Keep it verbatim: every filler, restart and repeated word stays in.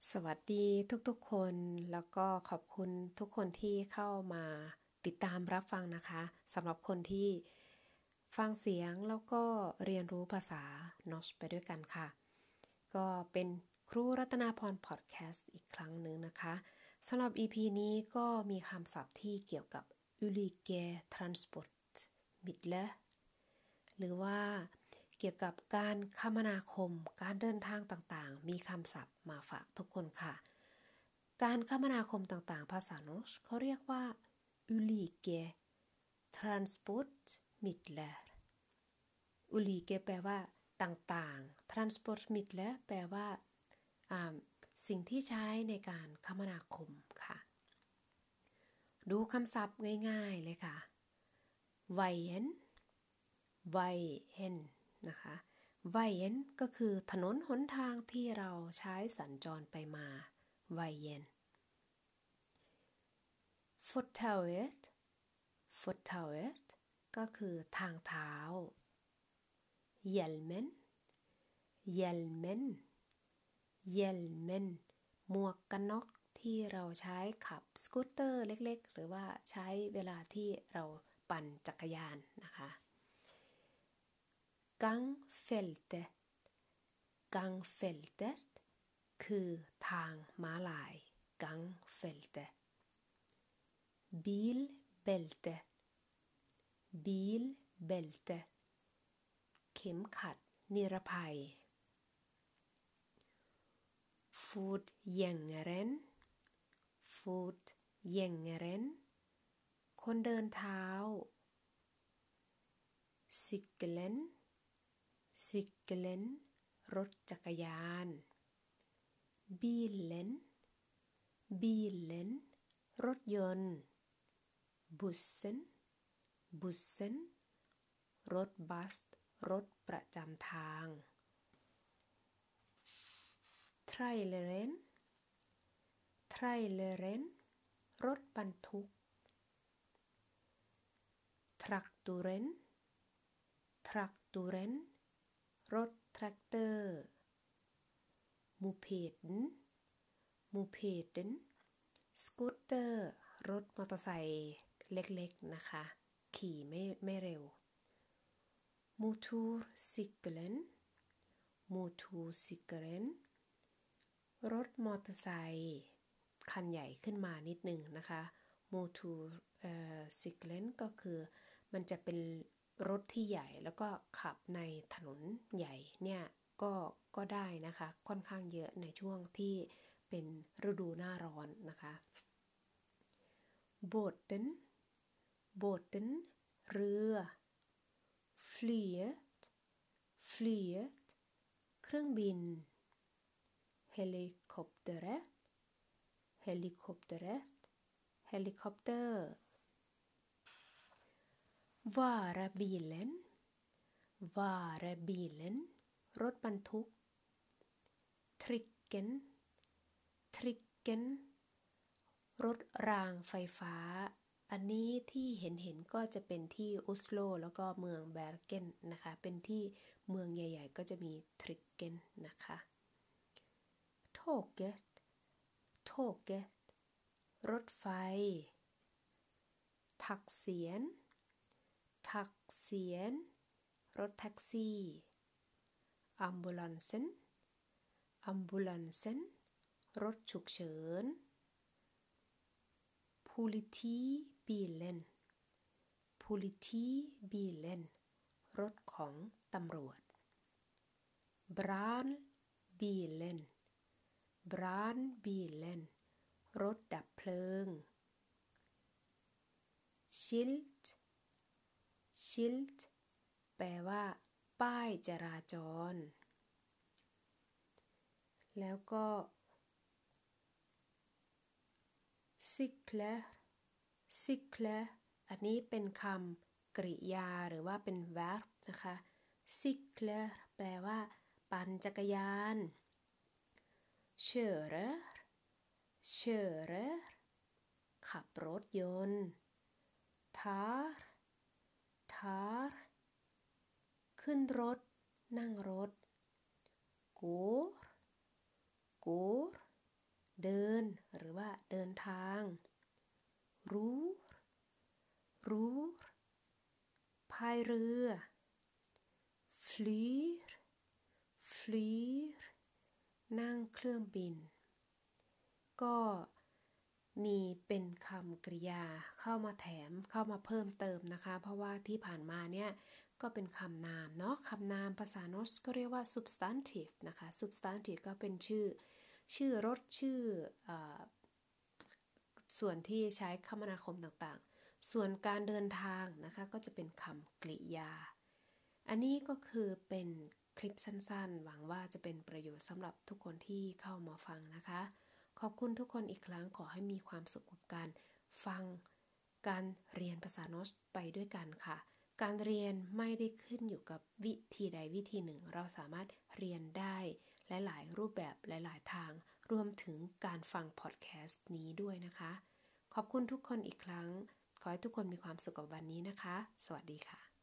สวัสดีทุกๆคนแล้วก็ขอบคุณทุกคนที่เข้ามาติดตามรับฟังนะคะสำหรับคนที่ฟังเสียงแล้วก็เรียนรู้ภาษานอชไปด้วยกันค่ะก็เป็นครูรัตนาพรพอดแคสต์อีกครั้งหนึ่งนะคะสำหรับ อี พี นี้ก็มีคำศัพท์ที่เกี่ยวกับ ulike transportmidler หรือว่าเกี่ยวกับการคมนาคมการเดินทางต่างๆมีคำศัพท์มาฝากทุกคนค่ะการคมนาคมต่างๆภาษาโนชเขาเรียกว่า ulike transportmidler ulike แปลว่าต่างๆ transportmidler แปลว่าสิ่งที่ใช้ในการคมนาคมค่ะดูคำศัพท์ง่ายๆเลยค่ะ veien veien นะคะ veien ก็คือถนนหนทางที่เราใช้สัญจรไปมา veien fortauet fortauet ก็คือทางเท้า hjelmen hjelmen hjelmen หมวกกันน็อกที่เราใช้ขับสกูตเตอร์เล็กๆหรือว่าใช้เวลาที่เราปั่นจักรยานนะคะ gangfeltet gangfeltet คือทางม้าลาย gangfeltet bilbälte bilbälte เข็มขัดนิรภัย fotgängaren fotgängaren คนเดินเท้า cyklen cyklen รถจักรยาน bilen bilen รถยนต์ bussen bussen รถบัสรถประจำทาง traileren traileren รถบรรทุก traktoren traktoren รถแทรกเตอร์ mopeden mopeden สกูตเตอร์รถมอเตอร์ไซค์เล็กๆนะคะขี่ไม่ไม่เร็ว motorcykeln motorcykeln รถมอเตอร์ไซค์คันใหญ่ขึ้นมานิดนึงนะคะ motorcykeln ก็คือมันจะเป็นรถที่ใหญ่แล้วก็ขับในถนนใหญ่เนี่ยก็ก็ได้นะคะค่อนข้างเยอะในช่วงที่เป็นฤดูหน้าร้อนนะคะ båten båten เรือ flyet flyet เครื่องบิน helikopteret helikopteret helikopter varebilen varebilen รถบรรทุก tricken tricken รถรางไฟฟ้าอันนี้ที่เห็นเห็นก็จะเป็นที่อุสโลแล้วก็เมืองแบร์เกนนะคะเป็นที่เมืองใหญ่ๆก็จะมีทริกเกนนะคะโทเกตโทเกตรถไฟทักเสียนทักเสียนรถแท็กซี่อัมบูลันเซนอัมบูลันเซนรถฉุกเฉินpolitibilen politibilen รถของตำรวจ brandbilen brandbilen รถดับเพลิง schild schild แปลว่าป้ายจราจรแล้วก็ cykler cykler อันนี้เป็นคำกริยาหรือว่าเป็น verb นะคะ cykler แปลว่าปั่นจักรยาน körer körer ขับรถยนต์ tar tar ขึ้นรถนั่งรถ går går เดินหรือว่าเดินทางรู้รู้พายเรือ flyr flyr นั่งเครื่องบินก็มีเป็นคำกริยาเข้ามาแถมเข้ามาเพิ่มเติมนะคะเพราะว่าที่ผ่านมาเนี่ยก็เป็นคำนามเนาะคำนามภาษาโนสก็เรียกว่า substantive นะคะ substantive ก็เป็นชื่อชื่อรถชื่ออส่วนที่ใช้คมนาคมต่างๆส่วนการเดินทางนะคะก็จะเป็นคำกริยาอันนี้ก็คือเป็นคลิปสั้นๆหวังว่าจะเป็นประโยชน์สำหรับทุกคนที่เข้ามาฟังนะคะขอบคุณทุกคนอีกครั้งขอให้มีความสุขกับการฟังการเรียนภาษาโนสไปด้วยกันค่ะการเรียนไม่ได้ขึ้นอยู่กับวิธีใดวิธีหนึ่งเราสามารถเรียนได้หลายๆรูปแบบหลายๆทางรวมถึงการฟังพอดแคสต์นี้ด้วยนะคะขอบคุณทุกคนอีกครั้งขอให้ทุกคนมีความสุขกับวันนี้นะคะสวัสดีค่ะ